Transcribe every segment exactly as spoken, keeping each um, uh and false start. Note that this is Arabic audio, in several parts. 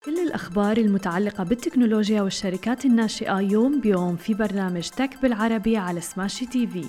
كل الأخبار المتعلقة بالتكنولوجيا والشركات الناشئة يوم بيوم في برنامج تك بالعربي على سماشي تي في.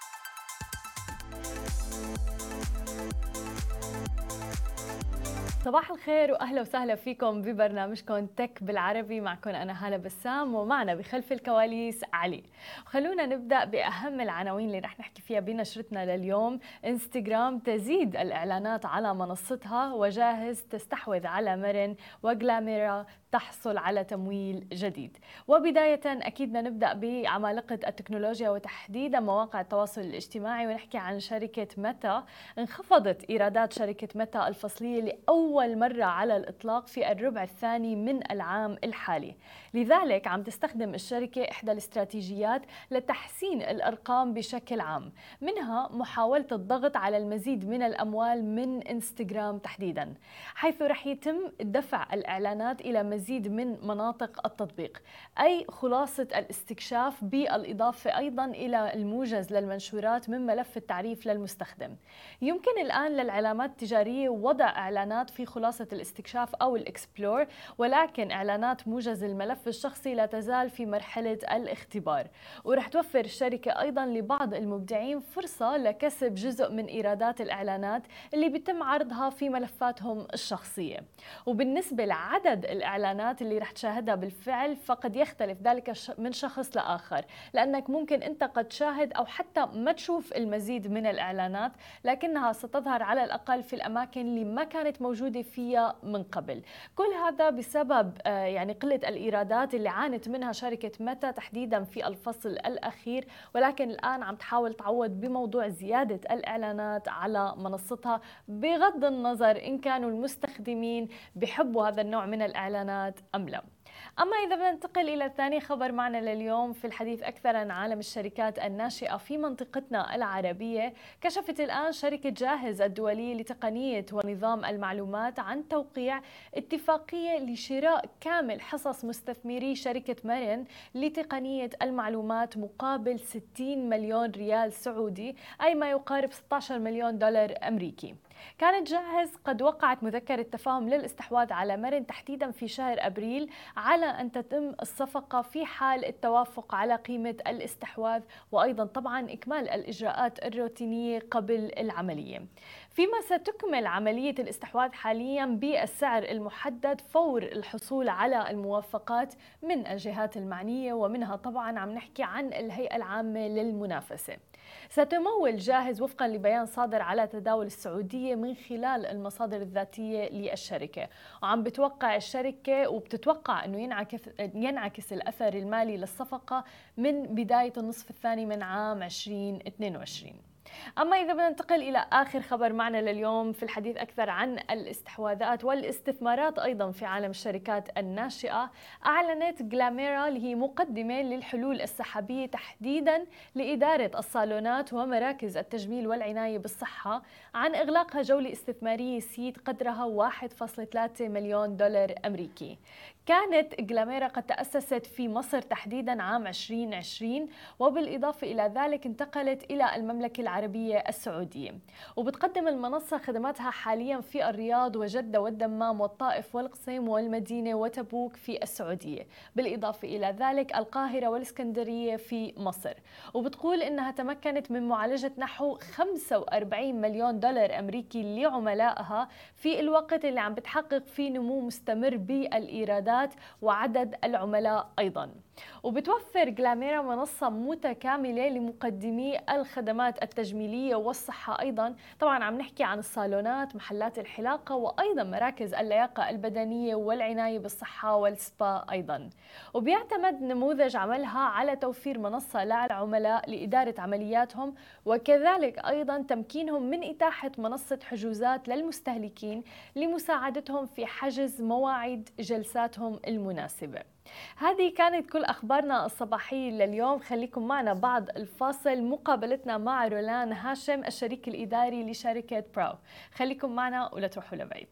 صباح الخير وأهلا وسهلا فيكم ببرنامجكم تك بالعربي. معكم أنا هالة بسام ومعنا بخلف الكواليس علي. خلونا نبدأ بأهم العناوين اللي رح نحكي فيها بنشرتنا لليوم. انستغرام تزيد الإعلانات على منصتها، وجاهز تستحوذ على مرن، وجلاميرا تحصل على تمويل جديد. وبداية أكيد بدنا نبدأ بعمالقة التكنولوجيا وتحديدا مواقع التواصل الاجتماعي، ونحكي عن شركة ميتا. انخفضت إيرادات شركة ميتا الفصلية لأول مرة على الإطلاق في الربع الثاني من العام الحالي، لذلك عم تستخدم الشركة إحدى الاستراتيجيات لتحسين الأرقام بشكل عام، منها محاولة الضغط على المزيد من الأموال من انستغرام تحديدا، حيث رح يتم دفع الإعلانات إلى مزيد من مناطق التطبيق، أي خلاصة الاستكشاف بالإضافة أيضا إلى الموجز للمنشورات من ملف التعريف للمستخدم. يمكن الآن للعلامات التجارية وضع إعلانات في خلاصة الاستكشاف أو الإكسبلور، ولكن إعلانات موجز الملف الشخصي لا تزال في مرحلة الاختبار. ورح توفر الشركة أيضا لبعض المبدعين فرصة لكسب جزء من إيرادات الإعلانات اللي بيتم عرضها في ملفاتهم الشخصية. وبالنسبة لعدد الإعلانات اللي رح تشاهدها بالفعل فقد يختلف ذلك من شخص لآخر، لأنك ممكن أنت قد تشاهد أو حتى ما تشوف المزيد من الإعلانات، لكنها ستظهر على الأقل في الأماكن اللي ما كانت موجودة فيها من قبل. كل هذا بسبب يعني قلة الإيرادات اللي عانت منها شركة ميتا تحديدا في الفصل الأخير، ولكن الآن عم تحاول تعوض بموضوع زيادة الإعلانات على منصتها، بغض النظر إن كانوا المستخدمين بيحبوا هذا النوع من الإعلانات أم لا. أما إذا بدنا ننتقل إلى ثاني خبر معنا لليوم في الحديث أكثر عن عالم الشركات الناشئة في منطقتنا العربية، كشفت الآن شركة جاهز الدولية لتقنية ونظام المعلومات عن توقيع اتفاقية لشراء كامل حصص مستثمري شركة مرن لتقنية المعلومات مقابل ستين مليون ريال سعودي، أي ما يقارب ستة عشر مليون دولار أمريكي. كانت جاهز قد وقعت مذكرة تفاهم للاستحواذ على مرن تحديدا في شهر أبريل، على أن تتم الصفقة في حال التوافق على قيمة الاستحواذ، وأيضا طبعا إكمال الإجراءات الروتينية قبل العملية، فيما ستكمل عملية الاستحواذ حاليا بالسعر المحدد فور الحصول على الموافقات من الجهات المعنية، ومنها طبعا عم نحكي عن الهيئة العامة للمنافسة. ستمول جاهز وفقا لبيان صادر على تداول السعودية من خلال المصادر الذاتية للشركة، وعم بتوقع الشركة وبتتوقع أنه ينعكس, ينعكس الأثر المالي للصفقة من بداية النصف الثاني من عام ألفين واثنين وعشرين. أما إذا بدنا ننتقل إلى آخر خبر معنا لليوم في الحديث أكثر عن الاستحواذات والاستثمارات أيضا في عالم الشركات الناشئة، أعلنت جلاميرا اللي هي مقدمة للحلول السحابية تحديدا لإدارة الصالونات ومراكز التجميل والعناية بالصحة عن إغلاقها جولة استثمارية سيد قدرها واحد فاصلة ثلاثة مليون دولار أمريكي. كانت جلاميرا قد تأسست في مصر تحديدا عام ألفين وعشرين، وبالإضافة إلى ذلك انتقلت إلى المملكة العربية السعودية، وبتقدم المنصة خدماتها حاليا في الرياض وجدة والدمام والطائف والقصيم والمدينة وتبوك في السعودية، بالإضافة إلى ذلك القاهرة والإسكندرية في مصر. وبتقول إنها تمكنت من معالجة نحو خمسة وأربعين مليون دولار أمريكي لعملائها في الوقت اللي عم بتحقق فيه نمو مستمر بالإيرادات وعدد العملاء أيضا. وبتوفر جلاميرا منصة متكاملة لمقدمي الخدمات التجميلية والصحة أيضا، طبعا عم نحكي عن الصالونات، محلات الحلاقة، وأيضا مراكز اللياقة البدنية والعناية بالصحة والسبا أيضا. وبيعتمد نموذج عملها على توفير منصة للعملاء لإدارة عملياتهم، وكذلك أيضا تمكينهم من إتاحة منصة حجوزات للمستهلكين لمساعدتهم في حجز مواعيد جلساتهم المناسبة. هذه كانت كل أخبارنا الصباحية لليوم. خليكم معنا بعد الفاصل مقابلتنا مع رولان هاشم الشريك الإداري لشركة براو. خليكم معنا ولا تروحوا لبعيد.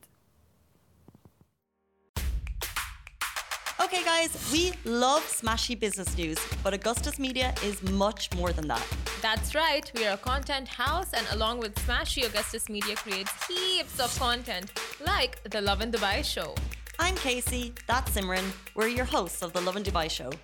Okay guys, we love smashy business news, but Augustus Media is much more than that. That's right, we are a content house, and along with Smashy, Augustus Media creates heaps of content like the Love in Dubai show. I'm Casey, that's Simran. We're your hosts of the Love in Dubai show.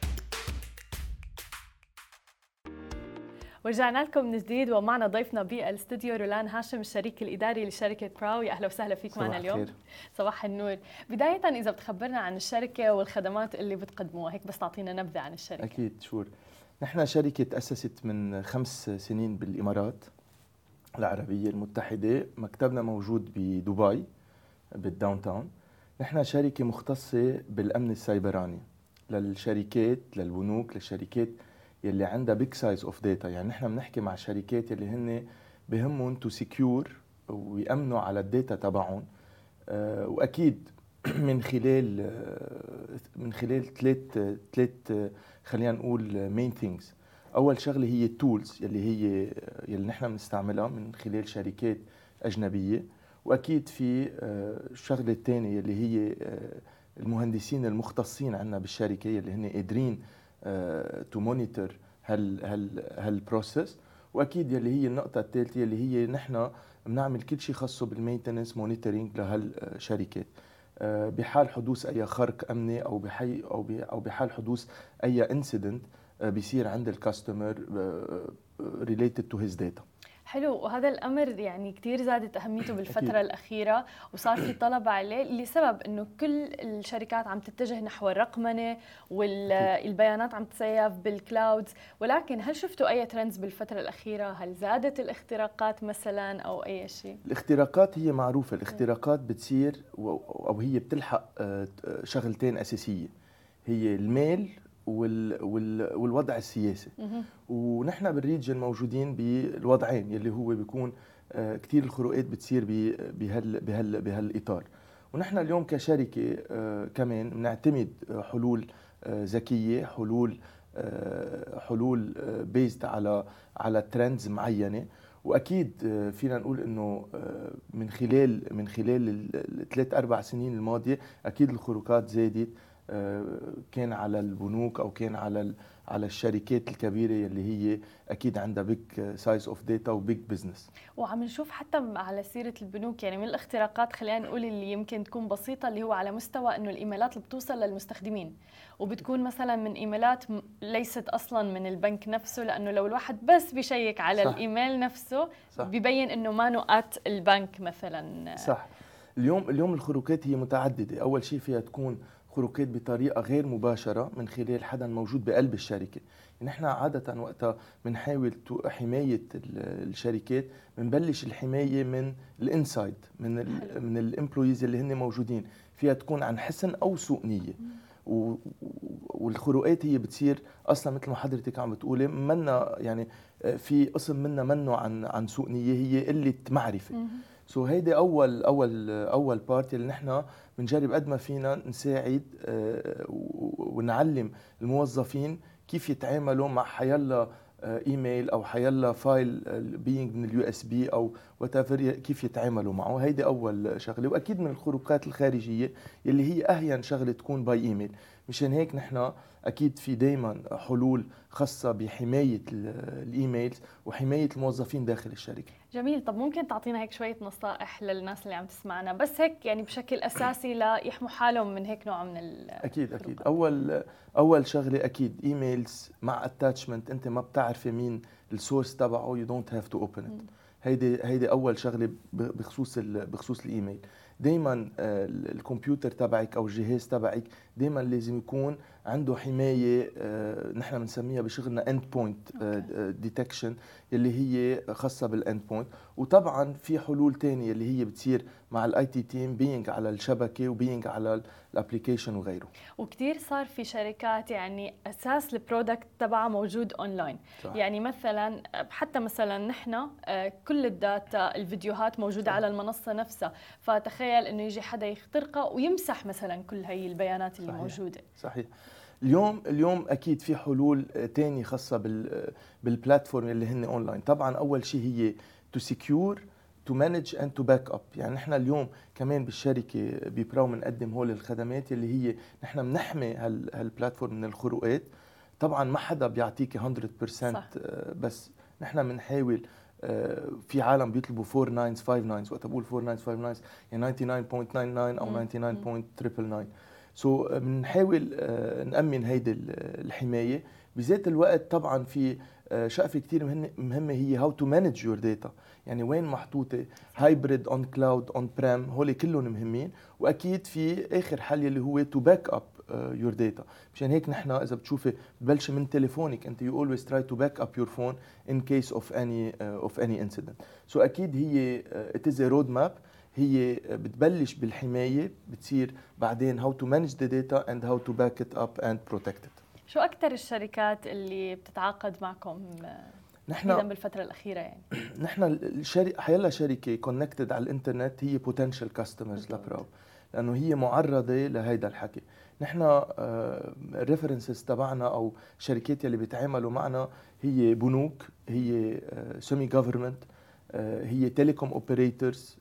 ورجعنا لكم من جديد ومعنا ضيفنا بالاستوديو رولان هاشم الشريك الاداري لشركه براو. يا اهلا وسهلا فيك معنا اليوم. خير. صباح النور. بدايه اذا بتخبرنا عن الشركه والخدمات اللي بتقدموها، هيك بس تعطينا نبذه عن الشركه. اكيد شور. نحن شركه تاسست من خمس سنين بالامارات العربيه المتحده، مكتبنا موجود بدبي بالداون تاون. نحن شركه مختصه بالامن السيبراني للشركات، للبنوك، للشركات يلي عندها بيج سايز اوف داتا. يعني نحن بنحكي مع شركات يلي هن بهمهم تو سكيور ويامنوا على الداتا تبعهم، أه واكيد من خلال أه من خلال ثلاث ثلاث خلينا نقول مين ثينجز. اول شغله هي التولز يلي هي يلي نحن بنستعملها من خلال شركات اجنبيه، واكيد في أه الشغله الثانيه يلي هي أه المهندسين المختصين عندنا بالشركه يلي هن قادرين تو مونيتور هال هال هالبروسيس. واكيد يلي هي النقطه الثالثه يلي هي نحن بنعمل كل شيء خاصه بالمينتنس مونيتورينج لهالشركات بحال حدوث اي خرق امني او بحي او او بحال حدوث اي انسيدنت بيصير عند الكاستمر ريليتد تو هيز داتا. حلو. وهذا الامر يعني كثير زادت اهميته بالفتره أكيد. الاخيره، وصار في طلب عليه لسبب انه كل الشركات عم تتجه نحو الرقمنه والبيانات عم تسيف بالكلاود. ولكن هل شفتوا اي ترندز بالفتره الاخيره؟ هل زادت الاختراقات مثلا او اي شيء؟ الاختراقات هي معروفه، الاختراقات بتصير او هي بتلحق شغلتين اساسيه، هي الميل وال وال والوضع السياسي. ونحن بالريجن موجودين بالوضعين يلي هو بيكون كثير الخروقات بتصير بهال بهال بهالاطار. ونحن اليوم كشركه كمان بنعتمد حلول ذكيه، حلول حلول بيزد على على ترندز معينه. واكيد فينا نقول انه من خلال من خلال الثلاث اربع سنين الماضيه اكيد الخروقات زادت، كان على البنوك او كان على على الشركات الكبيره اللي هي اكيد عندها بيج سايز اوف داتا وبيج بزنس. وعم نشوف حتى على سيره البنوك يعني من الاختراقات خلينا نقول اللي يمكن تكون بسيطه، اللي هو على مستوى انه الايميلات اللي بتوصل للمستخدمين وبتكون مثلا من ايميلات ليست اصلا من البنك نفسه، لانه لو الواحد بس بيشيك على صح. الايميل نفسه صح. ببين انه ما نقاط البنك مثلا. صح. اليوم اليوم الخروقات هي متعدده. اول شيء فيها تكون خروقات بطريقه غير مباشره من خلال حدا موجود بقلب الشركه. نحن عاده وقتها بنحاول حمايه الشركات، بنبلش الحمايه من الانسايد، من ال من الامبلويز اللي هن موجودين. فيها تكون عن حسن او سوء نيه. والخروقات هي بتصير اصلا مثل ما حضرتك عم بتقولي منا يعني في قسم منا منه عن عن سوء نيه، هي قله معرفه. سو so هيدي اول اول اول بارت اللي نحن بنجرب قد ما فينا نساعد ونعلم الموظفين كيف يتعاملوا مع حيلا ايميل او حيلا فايل بينج من اليو اس بي او وات ايفر، كيف يتعاملوا معه. هيدي اول شغله. واكيد من الخروقات الخارجيه اللي هي اهين شغله تكون باي ايميل. مشان هيك نحن اكيد في دائما حلول خاصه بحمايه الايميلز وحمايه الموظفين داخل الشركه. جميل. طب ممكن تعطينا هيك شويه نصائح للناس اللي عم تسمعنا، بس هيك يعني بشكل اساسي ليحموا حالهم من هيك نوع من ال اكيد اكيد. اول اول شغله اكيد ايميلز مع اتاتشمنت انت ما بتعرفي مين السورس تبعه، يو دونت هاف تو اوبن ات. هيدي هيدي اول شغله بخصوص بخصوص الايميل. دائما الكمبيوتر تبعك او الجهاز تبعك دائما لازم يكون عنده حمايه نحن بنسميها بشغلنا اند بوينت ديتكشن اللي هي خاصه بالاند بوينت. وطبعا في حلول ثانيه اللي هي بتصير مع الاي تي تيم بينج على الشبكه وبينج على الابلكيشن وغيره. وكثير صار في شركات يعني اساس البرودكت تبعها موجود اونلاين. صح. يعني مثلا حتى مثلا نحن كل الداتا الفيديوهات موجوده صح. على المنصه نفسها، فتخيل انه يجي حدا يخترقها ويمسح مثلا كل هي البيانات اللي صحيح. موجوده. صحيح. اليوم اليوم اكيد في حلول ثانيه خاصه بال بالبلاتفورم اللي هن اونلاين. طبعا اول شيء هي تو سكيور تو مانج اند تو باك اب. يعني نحن اليوم كمان بالشركه ببراو بنقدم هول الخدمات اللي هي نحن بنحمي هال هالبلاتفورم من الخروقات. طبعا ما حدا بيعطيكي مية بالمية صح. بس نحن بنحاول في عالم بيطلبوا فور ناينز فايف ناينز، وقت بقول فور ناينز فايف ناينز يعني تسعة وتسعين فاصلة تسعة وتسعين او تسعة وتسعين فاصلة تسعة تسعة تسعة. سو بنحاول نأمن هيدي الحماية. بذات الوقت طبعا في شقفة كتير مهمة هي هاو تو مانج يور داتا، يعني وين محطوطة، هايبريد اون كلاود اون بريم، هول كلهم مهمين. واكيد في اخر حل اللي هو تو باك اب يور داتا. مشان هيك نحن اذا بتشوفي ببلش من تليفونك، انت يو اولويز تراي تو باك اب يور فون ان كيس اوف اني اوف اني انسيدنت. سو اكيد هي ات از رود ماب، هي بتبلش بالحمايه، بتصير بعدين هاو تو مانج ذا داتا اند هاو تو باك ات اب اند بروتكت ات. شو اكثر الشركات اللي بتتعاقد معكم نحن بالفتره الاخيره؟ يعني نحن الشركه حيلا شركه كونكتد على الانترنت هي بوتنشال كاستمرز لبراو، لانه هي معرضه لهيدا الحكي. نحن الريفرنسز تبعنا او شركات اللي بيتعاملوا معنا هي بنوك، هي سيمي جوفرمنت، هي تيليكوم اوبريتورز،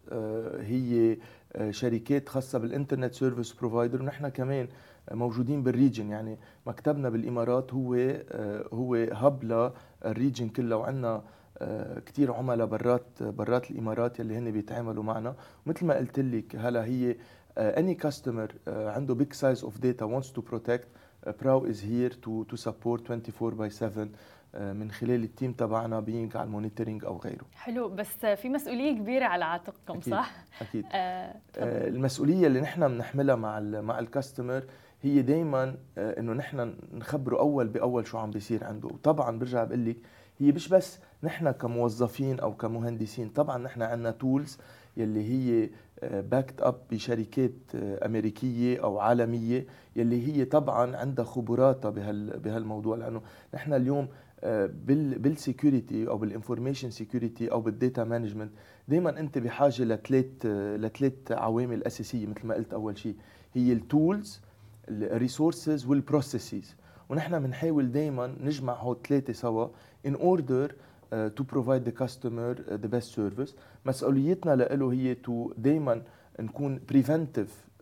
هي شركات خاصه بالانترنت سيرفيس بروفايدر. ونحن كمان موجودين بالريجن، يعني مكتبنا بالامارات هو هو هب للريجن كله، وعندنا كثير عملاء برات برات الامارات اللي هن بيتعاملوا معنا. مثل ما قلت لك هلا هي any customer عنده big size of data wants to protect, Prao is here to to support twenty four by seven من خلال التيم تبعنا بينج على المونيتورينج او غيره. حلو، بس في مسؤوليه كبيره على عاتقكم. أكيد صح؟ اكيد. آه آه المسؤوليه اللي نحن بنحملها مع مع الكاستمر هي دائما آه انه نحن نخبره اول باول شو عم بيصير عنده. وطبعا برجع بقول لك هي مش بس نحن كموظفين او كمهندسين، طبعا نحن عندنا تولز يلي هي باكت اب بشركات امريكيه او عالميه يلي هي طبعا عندها خبراتها بهال بهالموضوع. لانه نحن اليوم بال بالسكيورتي او بالانفورميشن سكيورتي او بالداتا مانجمنت دائما انت بحاجه لثلاث لثلاث عوامل اساسيه. مثل ما قلت، اول شيء هي التولز، الريسورسز والبروسيسز، ونحن بنحاول دائما نجمع هول الثلاثه سوا in order Uh, to provide the customer uh, the best service. مسؤوليتنا له هي to دايما نكون preventive uh,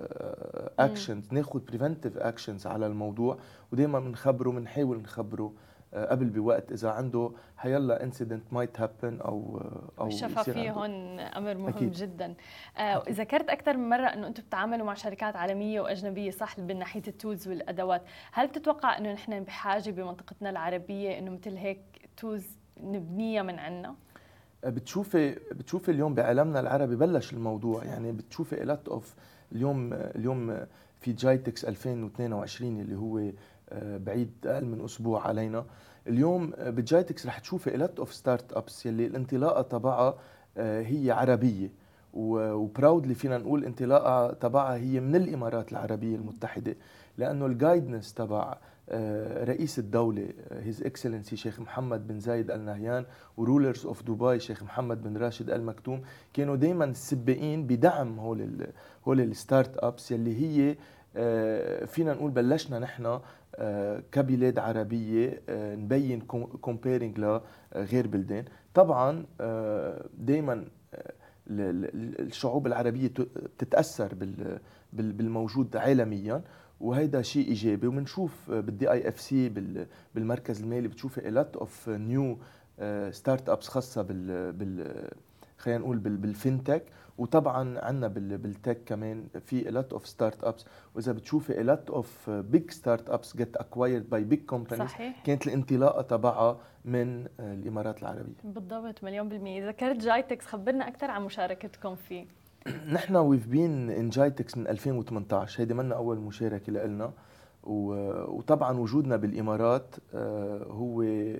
actions، ناخذ preventive actions على الموضوع، ودايما بنخبره بنحاول نخبره uh, قبل بوقت اذا عنده حيلا incident might happen او uh, او الشفافيه هون امر مهم أكيد. جدا. uh, ذكرت اكثر من مره انه انتم بتتعاملوا مع شركات عالميه واجنبيه، صح، من ناحيه التولز والادوات. هل بتتوقع انه نحن بحاجه بمنطقتنا العربيه انه مثل هيك تولز نبنيها من عنا؟ بتشوفي بتشوفي اليوم بعالمنا العربي بلش الموضوع. يعني بتشوفي لات اوف اليوم اليوم في جايتكس ألفين واثنين وعشرين اللي هو بعيد اقل من اسبوع علينا. اليوم بجايتكس رح تشوفي لات اوف ستارت ابس يلي الانطلاقه تبعها هي عربيه، وبراودلي فينا نقول انطلاقه تبعها هي من الامارات العربيه المتحده، لانه الجايدنس تبع رئيس الدولة هيز اكسلنسي شيخ محمد بن زايد ال نهيان ورولرز اوف دبي شيخ محمد بن راشد ال مكتوم كانوا دائما السباقين بدعم هول ال هول الستارت ابس يلي هي فينا نقول بلشنا نحن كبلاد عربية نبين كومبيرينج لغير بلدان. طبعا دائما الشعوب العربية بتتأثر بالموجود عالميا، وهيدا شيء ايجابي. وبنشوف بالدي اي اف سي بالمركز المالي بتشوفي الات اوف نيو ستارت ابس خاصه بال بال خلينا نقول بالفينتك، وطبعا عندنا بالتك كمان في الات اوف ستارت ابس. واذا بتشوفي الات اوف بيج ستارت ابس جيت اكوايرد باي بيج كومبانيز، كانت الانطلاقه تبعها من الامارات العربيه. بالضبط، مليون بالمية. ذكرت جايتكس، خبرنا اكثر عن مشاركتكم فيه. نحن ويف بين ان جايتكس من ألفين وثمانية عشر، هيدي منا اول مشاركه لنا. وطبعا وجودنا بالامارات هو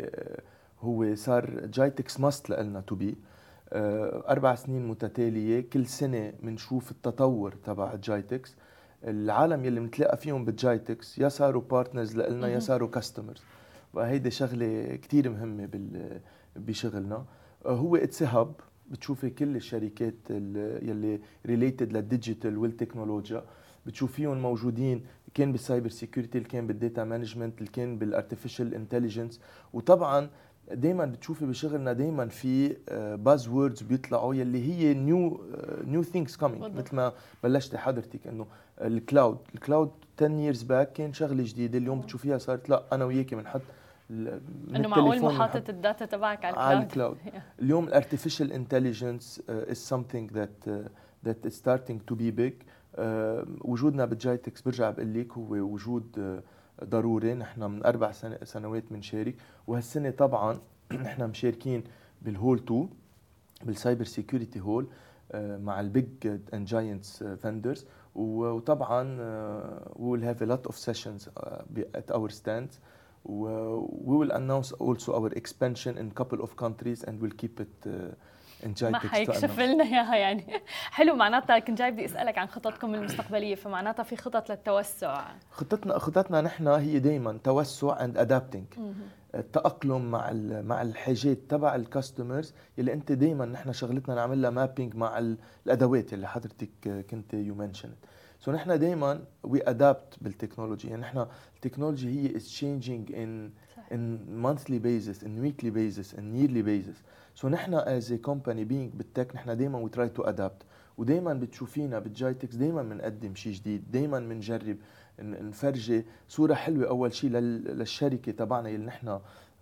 هو صار جايتكس ماست لنا تو بي. اربع سنين متتاليه كل سنه بنشوف التطور تبع جايتكس. العالم يلي بنتلاقى فيهم بالجايتكس يا صاروا بارتنرز لنا يا صاروا كاستمرز، وهيدي شغله كثير مهمه بشغلنا. هو اتس هاب، بتشوفي كل الشركات يلي ريليتد للديجيتال والتكنولوجيا بتشوفيهم موجودين، كان بالسايبر سيكيورتي، كان بالداتا مانجمنت، كان بالارتفيشال انتليجنس. وطبعا دائما بتشوفي بشغلنا دائما في باز ووردز بيطلعوا يلي هي نيو نيو ثينكس كامينج. مثل ما بلشتي حضرتك انه الكلاود الكلاود عشرة years باك كان شغله جديده، اليوم بتشوفيها صارت لا انا وياكي بنحط انه معقول محاطه الداتا تبعك على على الكلاود. الكلاود. اليوم الارتفيشال انتليجنس is something that uh, that is starting to be big. uh, وجودنا بالجايتكس برجع بقول لك هو وجود uh, ضروري. نحن من اربع سنة سنوات بنشارك، وهالسنه طبعا نحن مشاركين بالهول اثنين بالسايبر سيكيورتي هول مع البيج اند جاينتس فندرز. وطبعا uh, we will have a lot of sessions uh, at our stands. We will announce also our expansion in a couple of countries and we'll keep it uh, in Jitex. ما حيكشف لنا اياها يعني. حلو. معناتها كنت جاي بدي اسالك عن خططكم المستقبليه، فمعناتها في خطط للتوسع. خطتنا خطتنا نحن هي دائما توسع and adapting. التأقلم مع مع الحاجات تبع الكاستمرز اللي انت دائما نحن شغلتنا نعملها مابينج مع الادوات اللي حضرتك كنت يو منشنت. سو نحن دائما وي ادابت بالتكنولوجي. يعني نحن التكنولوجي هي is changing in in monthly basis, in weekly basis, in yearly basis. سو نحن as a company being بالتك نحن دائما we try to adapt. ودائما بتشوفينا بالجايتكس دائما بنقدم شيء جديد، دائما بنجرب نفرجي صورة حلوة أول شيء للشركة تبعنا اللي نحن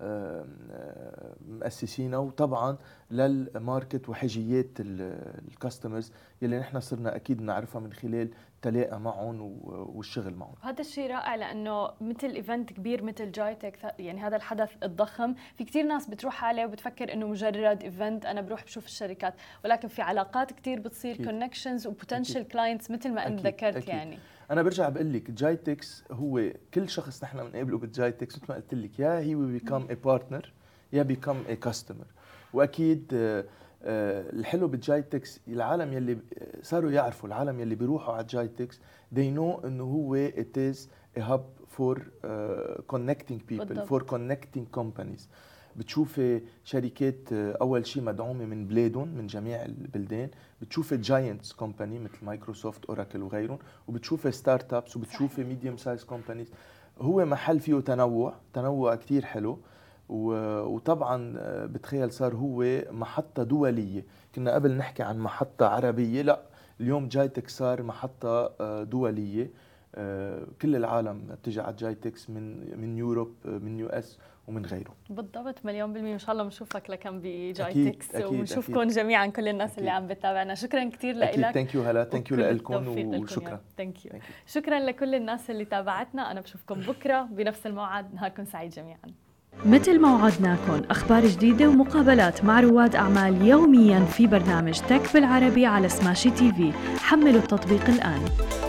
مؤسسينها، وطبعا للماركت وحاجيات الكاستمرز اللي نحن صرنا أكيد نعرفها من خلال تلاقى معهم والشغل معهم. هذا الشيء رائع، لأنه مثل إيفنت كبير مثل جايتك، يعني هذا الحدث الضخم، في كتير ناس بتروح عليه وبتفكر إنه مجرد إيفنت أنا بروح بشوف الشركات، ولكن في علاقات كتير بتصير، كونكشنز وبوتنشال كلاينتس مثل ما أنت ذكرت. أكيد. يعني أنا برجع بقول لك جايتكس هو كل شخص نحن بنقابله بالجايتكس مثل ما قلت لك يا هي وي بيكم ا بارتنر يا بيكم ا كاستمر. وأكيد الحلو بالجايتكس العالم يلي صاروا يعرفوا، العالم يلي بيروحوا على الجايتكس they know إنه هو it is a hub for uh, connecting people بالضبط. for connecting companies. بتشوفي شركات اول شيء مدعومه من بلادهم من جميع البلدان، بتشوفي جاينتس كومباني مثل مايكروسوفت اوراكل وغيرهم، وبتشوفي ستارت ابس وبتشوفي ميديوم سايز كومبانيز. هو محل فيه تنوع تنوع كتير حلو. وطبعا بتخيل صار هو محطه دوليه. كنا قبل نحكي عن محطه عربيه، لا اليوم جايتكس صار محطه دوليه. كل العالم بتيجي على جايتكس من من يوروب من يو اس ومن غيره. بالضبط، مليون بالمية. ان شاء الله بنشوفك لكم بجايتكس ونشوفكم جميعا كل الناس أكيد. اللي عم بتابعنا. شكرا كثير لك. ثانك يو هلا، ثانك يو لكم وشكرا. ثانك يو. شكرا لكل الناس اللي تابعتنا. انا بشوفكم بكره بنفس الموعد. نهاركم سعيد جميعا. مثل ما وعدناكم اخبار جديده ومقابلات مع رواد اعمال يوميا في برنامج تك بالعربي على سماشي تي في. حملوا التطبيق الان.